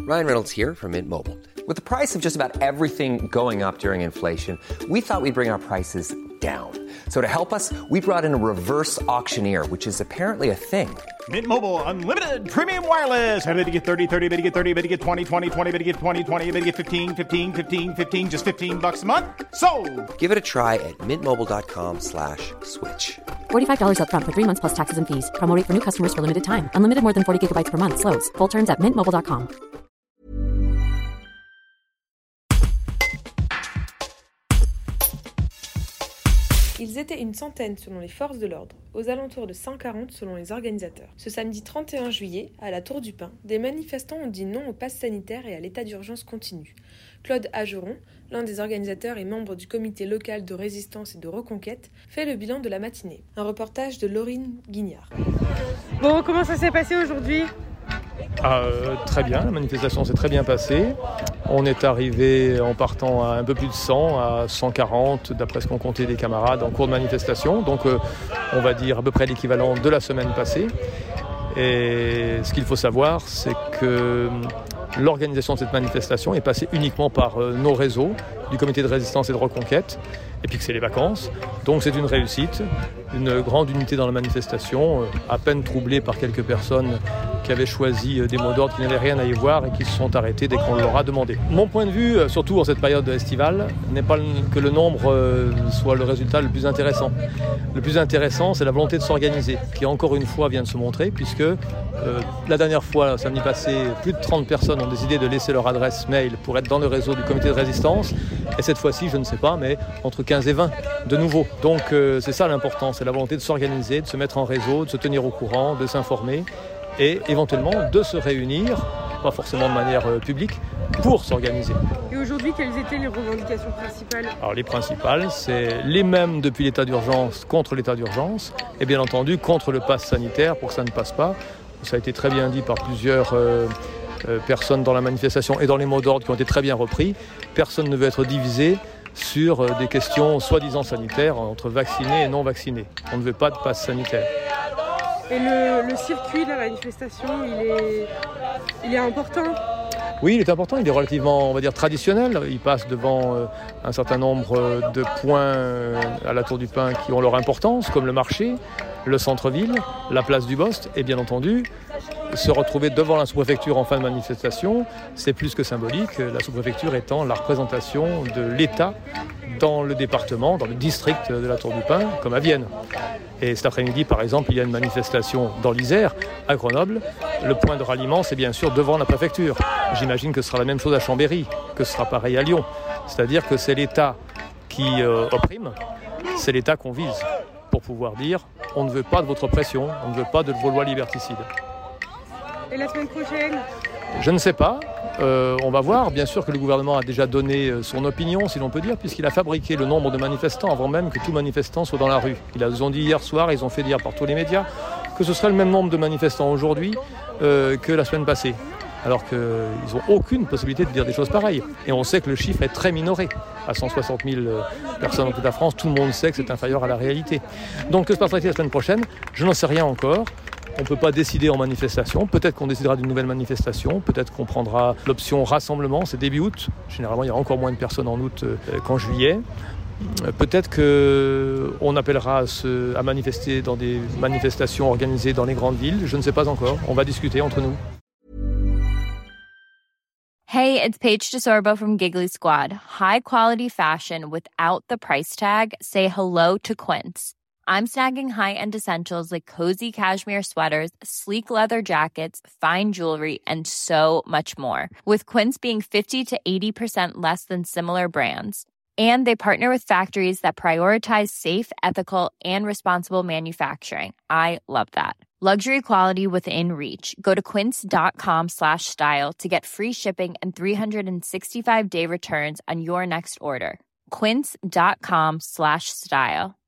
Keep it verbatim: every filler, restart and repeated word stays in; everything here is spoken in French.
Ryan Reynolds here from Mint Mobile. With the price of just about everything going up during inflation, we thought we'd bring our prices down. So to help us, we brought in a reverse auctioneer, which is apparently a thing. Mint Mobile Unlimited Premium Wireless. How to get thirty, thirty, how to get thirty, how to get twenty, twenty, twenty, how to get twenty, twenty, how to get fifteen, fifteen, fifteen, fifteen, just fifteen bucks a month? Sold! Give it a try at mintmobile.com slash switch. forty-five dollars up front for three months plus taxes and fees. Promo rate for new customers for limited time. Unlimited more than forty gigabytes per month. Slows full terms at mint mobile dot com. Ils étaient une centaine selon les forces de l'ordre, aux alentours de cent quarante selon les organisateurs. Ce samedi trente et un juillet, à la Tour du Pin, des manifestants ont dit non au pass sanitaire et à l'état d'urgence continu. Claude Ageron, l'un des organisateurs et membre du comité local de résistance et de reconquête, fait le bilan de la matinée. Un reportage de Laurine Guignard. Bon, comment ça s'est passé aujourd'hui ? Ah, euh, très bien, la manifestation s'est très bien passée. On est arrivé en partant à un peu plus de cent, à cent quarante, d'après ce qu'ont compté des camarades en cours de manifestation. Donc euh, on va dire à peu près l'équivalent de la semaine passée. Et ce qu'il faut savoir, c'est que l'organisation de cette manifestation est passée uniquement par euh, nos réseaux du comité de résistance et de reconquête, et puis que c'est les vacances. Donc c'est une réussite, une grande unité dans la manifestation, euh, à peine troublée par quelques personnes qui avaient choisi euh, des mots d'ordre qui n'avaient rien à y voir et qui se sont arrêtés dès qu'on leur a demandé. Mon point de vue, euh, surtout en cette période estivale, n'est pas que le nombre euh, soit le résultat le plus intéressant. Le plus intéressant, c'est la volonté de s'organiser, qui encore une fois vient de se montrer, puisque euh, la dernière fois, samedi passé, plus de trente personnes ont décidé de laisser leur adresse mail pour être dans le réseau du comité de résistance. Et cette fois-ci, je ne sais pas, mais entre quinze et vingt de nouveau. Donc euh, c'est ça l'important, c'est la volonté de s'organiser, de se mettre en réseau, de se tenir au courant, de s'informer et éventuellement de se réunir, pas forcément de manière euh, publique, pour s'organiser. Et aujourd'hui, quelles étaient les revendications principales ? Alors les principales, c'est les mêmes depuis l'état d'urgence contre l'état d'urgence et bien entendu contre le pass sanitaire pour que ça ne passe pas. Ça a été très bien dit par plusieurs euh, euh, personnes dans la manifestation et dans les mots d'ordre qui ont été très bien repris. Personne ne veut être divisé sur euh, des questions soi-disant sanitaires entre vaccinés et non vaccinés. On ne veut pas de pass sanitaire. Et le, le circuit de la manifestation, il est, il est important ? Oui, il est important, il est relativement, on va dire, traditionnel. Il passe devant euh, un certain nombre de points euh, à la Tour du Pin qui ont leur importance, comme le marché, le centre-ville, la place du Bost, et bien entendu, se retrouver devant la sous-préfecture en fin de manifestation, c'est plus que symbolique, la sous-préfecture étant la représentation de l'État dans le département, dans le district de la Tour du Pin, comme à Vienne. Et cet après-midi, par exemple, il y a une manifestation dans l'Isère, à Grenoble. Le point de ralliement, c'est bien sûr devant la préfecture. J'imagine que ce sera la même chose à Chambéry, que ce sera pareil à Lyon. C'est-à-dire que c'est l'État qui euh, opprime, c'est l'État qu'on vise, pour pouvoir dire on ne veut pas de votre oppression, on ne veut pas de vos lois liberticides. Et la semaine prochaine ? Je ne sais pas. Euh, on va voir. Bien sûr que le gouvernement a déjà donné son opinion, si l'on peut dire, puisqu'il a fabriqué le nombre de manifestants avant même que tout manifestant soit dans la rue. Ils ont dit hier soir, ils ont fait dire par tous les médias, que ce serait le même nombre de manifestants aujourd'hui euh, que la semaine passée. Alors qu'ils n'ont aucune possibilité de dire des choses pareilles. Et on sait que le chiffre est très minoré. À cent soixante mille personnes dans toute la France, tout le monde sait que c'est inférieur à la réalité. Donc que se passera-t-il la semaine prochaine ? Je n'en sais rien encore. On ne peut pas décider en manifestation. Peut-être qu'on décidera d'une nouvelle manifestation. Peut-être qu'on prendra l'option rassemblement. C'est début août. Généralement, il y a encore moins de personnes en août qu'en juillet. Peut-être qu'on appellera à, se, à manifester dans des manifestations organisées dans les grandes villes. Je ne sais pas encore. On va discuter entre nous. Hey, it's Paige DeSorbo from Giggly Squad. High quality fashion without the price tag. Say hello to Quince. I'm snagging high-end essentials like cozy cashmere sweaters, sleek leather jackets, fine jewelry, and so much more. With Quince being fifty to eighty percent less than similar brands. And they partner with factories that prioritize safe, ethical, and responsible manufacturing. I love that. Luxury quality within reach. Go to quince.com slash style to get free shipping and three sixty-five day returns on your next order. Quince.com slash style.